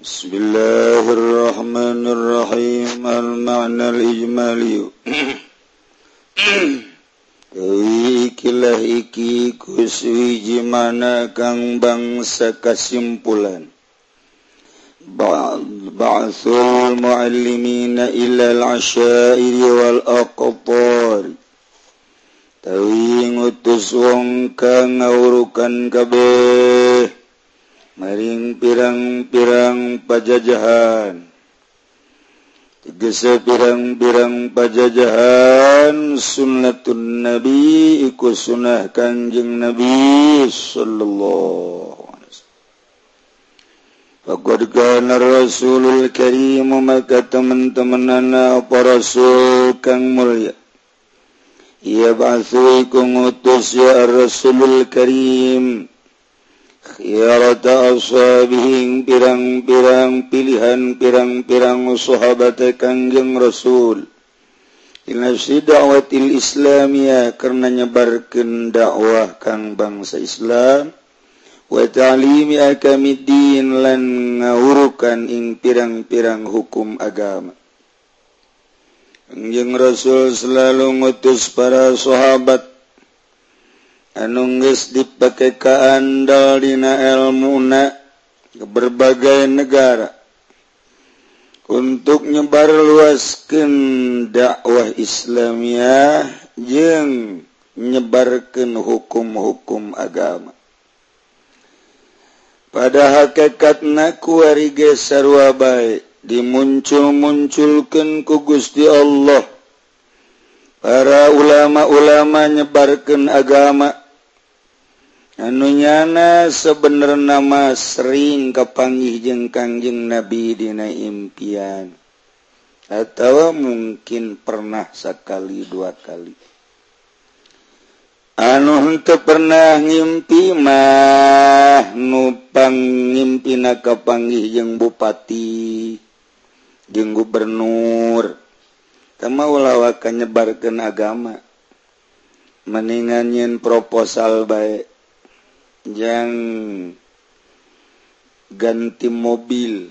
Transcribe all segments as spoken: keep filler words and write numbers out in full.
Bismillahirrahmanirrahim. Al-ma'na al-ijmali. Ikilah iki kuswiji mana kang bangsa kasimpulan. Ba'athul mu'allimina ilal asyairi wal aqtar. Tawi ngutus wong kang ngawurukan kabeh maring pirang-pirang pajajahan. Tegese pirang-pirang pajajahan sunnatun nabi iku sunnah kanjeng nabi sallallahu alaihi wasallam. Faqad kana rasulul karim, maka teman-temanana para rasul kang mulya. Ia ba'athu iku ngutus ya rasulul karim khiyarata ashabihi, pirang-pirang pilihan pirang-pirang sahabat kanjeng rasul inasi da'watil islamiyah, karena nyebarkeun dakwah kang bangsa Islam, wa ta'limi akamiddin, lan ngawurukan ing pirang-pirang hukum agama. Kanjeng Rasul selalu ngutus para sahabat anu geus dipake kaandal dina ilmuna ke berbagai negara untuk nyebar luaskeun dakwah Islamiyah jeung nyebarkeun hukum-hukum agama. Pada hakikatna kuari ge sarua bae dimuncul-munculkeun ku Gusti Allah para ulama-ulama nyebarkeun agama anu nyana sebenarna mah sering kapanggih jeung Kangjeng Nabi dina impian atawa mungkin pernah sakali dua kali. Anu henteu pernah ngimpi mah nu pangimpina kapanggih jeung bupati jeung gubernur kama ulah ka nyebarkeun agama, mendingan nyeun proposal bae jang ganti mobil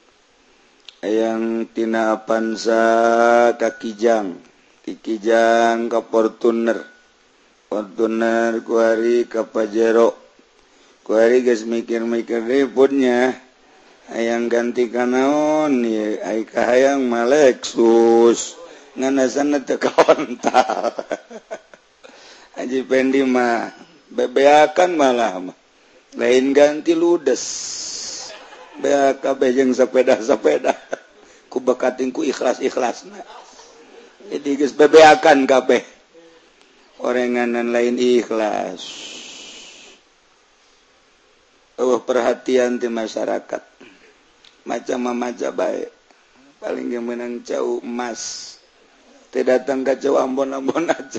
yang tina Avanza ka Kijang, ti Kijang ka Fortuner, Fortuner kuari ka Pajero, kuari geus mikir-mikir ributnya hayang ganti ka naon ye, ai ka hayang mah Lexus nganasanna teu kaontal. Haji Pendi mah bebeakan malah mah lain ganti ludes, bea kabeh jeung sepeda-sepeda ku bakating ku ikhlas-ikhlasna, jadi geus bebeakan kabeh orenganan lain ikhlas. Eueuh perhatian ti masyarakat macam-macam bae, paling ge meunang cau emas teh datang ka cau Ambon-Ambon aja.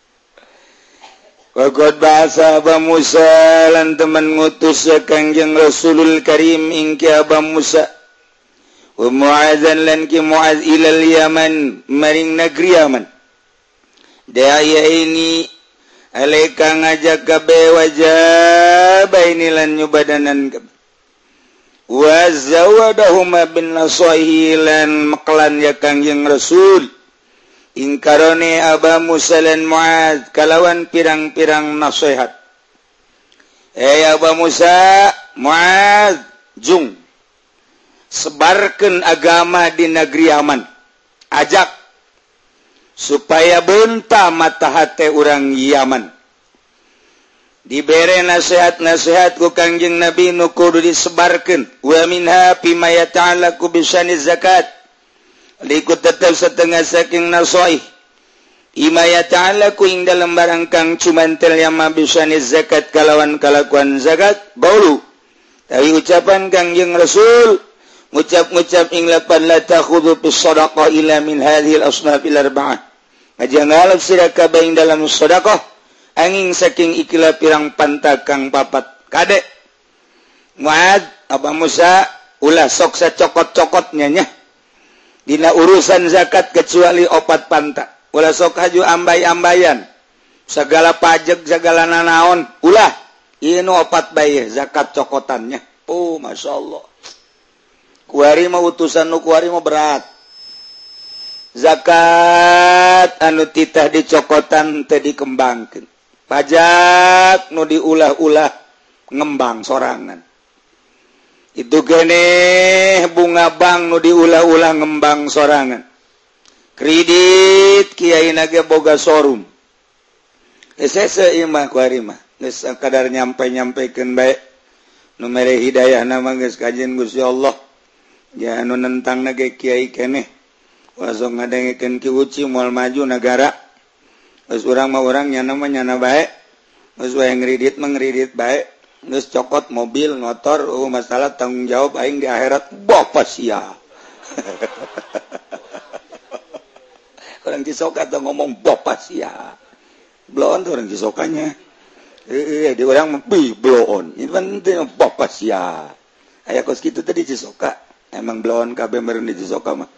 Waqad bahasa Aba Musa, lan teman ngutus ya Kangjeng Rasulul Karim ing ki Aba Musa, wa Mu'adzan lan ki Mu'adz ilal Yaman, maring negeri Yaman. Daya ini alaika ngajak kabeh wajah baini lan nyubadanan kabeh. Wa zawadahuma bin nasaihi, lan maklan ya Kangjeng Rasul ingkarone Aba Musa lan Mu'adz kalawan pirang-pirang nasihat. Eh Aba Musa, Mu'adz, jung sebarkeun agama di negeri Yaman, ajak supaya beunta mata hate urang Yaman. Dibere nasihat-nasihat ku Kangjeng Nabi nu kudu disebarkeun. Wa minha fima yata'allaqu bisani zakat, likut tetap setengah saking nasoih ima yata'allaqu ing dalam barang kang cumantel yama bisani zakat kalawan kalakuan zakat baulu. Tapi ucapan Kangjeng Rasul ngucap-ngucap ing lapan la takhudhu bis shadaqah ila min hadhil asnafil arba'ah, aja ngalap sira kabeh ing dalam sedekah angin saking ikilah pirang pantakang papat kade. Mu'adz, Aba Musa ulah sok sacokot-cokotnya nya dina urusan zakat kecuali opat pantak, ulah sok haju ambay-ambayan segala pajak segala nanaon, ulah ieu opat bae zakat cokotannya. Oh masya Allah, kuari mah utusan nu kuari mah berat. Zakat anu titah dicokotan teu dikembangkeun. Pajak nu diulah-ulah ngembang sorangan. Itu keneh bunga bank nu diulah-ulah ngembang sorangan. Kredit kiai nage boga showroom. Esese imah kuari mah geus kadar nyampe-nyampekeun bae. Nu mere hidayah nama geus kajen Gusti Allah. Ya anu nentang nage kiai keneh. Wasong ngadengekeun ki uci moal maju negara. Geus urang mah urang nyana mah nyana bae. Geus wae ngridit mah ngridit bae. Geus cokot mobil, motor, oh masalah tanggung jawab aing di akhirat bapa sia. Orang Cisoka tuh ngomong bapa sia. Bloon tuh orang Cisokanya. Eh, di orang bi bloon. Ini penting bapa sia. Aya kos kitu tadi Cisoka. Emang bloon kabeh meureun di Cisoka mah.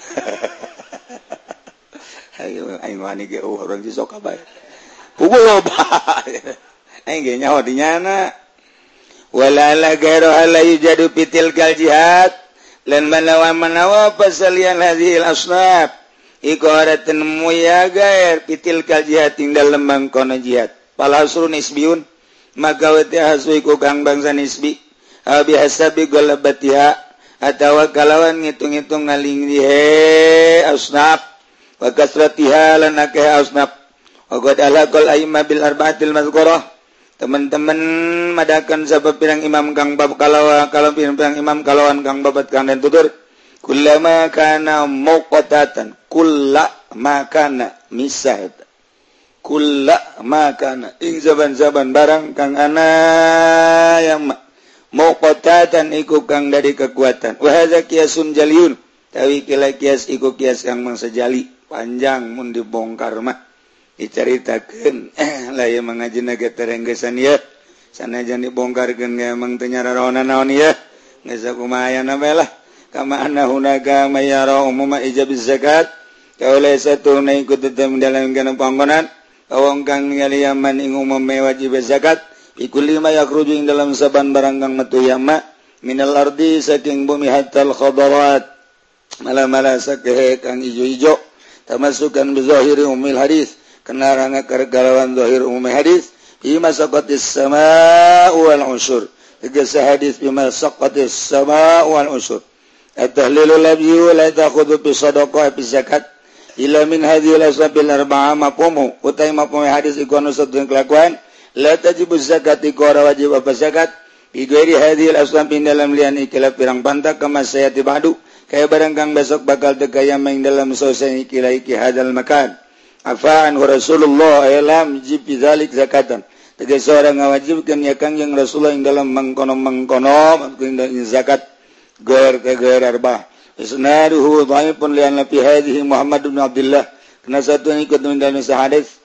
Ayo aing wani ge orang Cisoka bae. Puguh loba. Aing ge nyaho di nyana. Walala gairu ala yujadu pitil kal jihad lan manawa manawa pasalian hadhil asnaf iqaratan muyaga pitil kal jihad ing dalem mangkono jihad palasrun isbiun maka wati hasu iku kang bangsa nisbi abi hasabi galabatiha atawa kalawan ngitung-ngitung ngaling dihe asnaf wa kasratiha lan akeh asnaf wa qad alaqal aimma bil arba'atil mazkurah. Teman-teman madakan sabab pirang imam kang bab kalawa kalau pirang imam kalawan kang babat kang dan tutur kullama kana muqatatan kullama kana misah kullama kana ing zaban-zaban barang kang ana yang muqatatan iku kang dari kekuatan wa hadza qiyasun jaliyun tawi kila qiyas iku qiyas kang mangsa jali panjang mun dibongkar mah diceritakeun lah ya mangajina ge terenggesan ya sanajan dibongkarkeun ge emang teu nyaraona naon ya geus kumaha aya bae lah kama anna hunaka mayara umuma ijabiz zakat kaula satuna ikut tetep dalam kana panggonan kawong kang ningali yaman ing umum wajib zakat iku lima yakruju ing dalam saban barang kang metu yama minal ardi saking bumi hatal khadarat mala-mala sakeh kang ijo-ijo tamasukan bi zahiri umil hadis kenaranga kargalawan zahir umum hadis bima saqatis samaa wal usyur tegese hadis bima saqatis samaa wal usyur at-tahlilul labyi la ta'khudhu bi sadaqah bi zakat ila min hadhil asbabil arba'a maqamu utai maqam hadis iku anu sadeng kelakuan la tajibu zakat iku ora wajib apa zakat bi ghairi hadhil asbab dalam lian ikhilaf pirang pantak kama sayati ba'du kaya barang kang besok bakal tegaya main dalam sosai ikhilaf iki hadal makan afaan Rasulullah alam jibi zalik zakatan tegese orang ngawajibkeun ya Kangjeng Rasulullah ing dalam mangkono-mangkono mangkono zakat gair ke gair arbah isnaduhu dhaifun li anna fi hadhihi Muhammad bin Abdullah kana satu ikut dalam hadis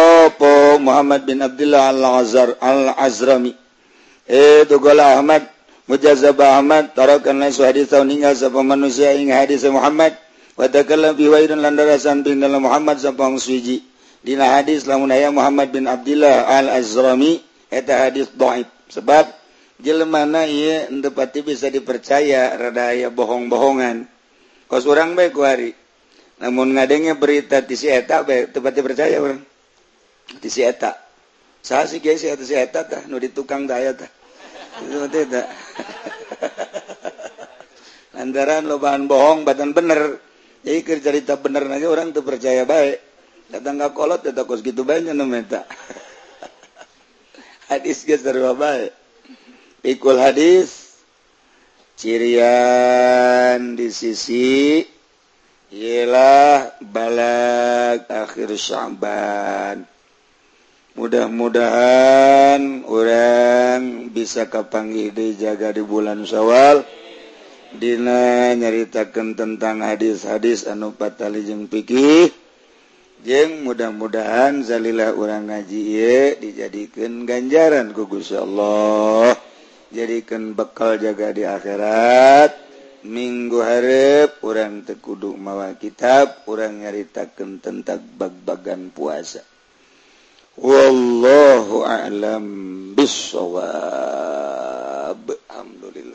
opo Muhammad bin Abdullah al-Azhar al-Azrami eh tugola Ahmad mujazab Ahmad tarakan lain hadis tau ninggal sapa manusia ing hadis Muhammad wa takallam fi waidun landarasan bin dalam Muhammad sapang suji dina hadis lamun aya Muhammad bin Abdullah al-Azrami eta hadis dhaif sebab jelema ieu henteu pati bisa dipercaya rada aya bohong-bohongan kos urang bae kuari namun ngadenge berita ti si eta bae teu pati percaya urang ti si eta saha si kieu si eta si eta tah nu di tukang tah aya tah itu teh tah lantaran lobaan bohong batan bener. Jadi keur cerita bener aja orang tuh percaya baik. Datang ka kolot eta kos kitu bae nya meta. Hadis geus sarua bae. Pikul hadis cirian di sisi ialah balag akhir Sya'ban. Mudah-mudahan orang bisa kapanggih dijaga di bulan Syawal. Dina nyaritakeun tentang hadis-hadis anu patali jeung fikih jeung mudah-mudahan zalilah urang ngaji ieu dijadikeun ganjaran ku Gusti Allah jadikeun bekal jaga di akhirat minggu hareup urang teu kudu mawa kitab urang nyaritakeun tentang bag-bagan puasa wallahu a'lam bissawab alhamdulillah.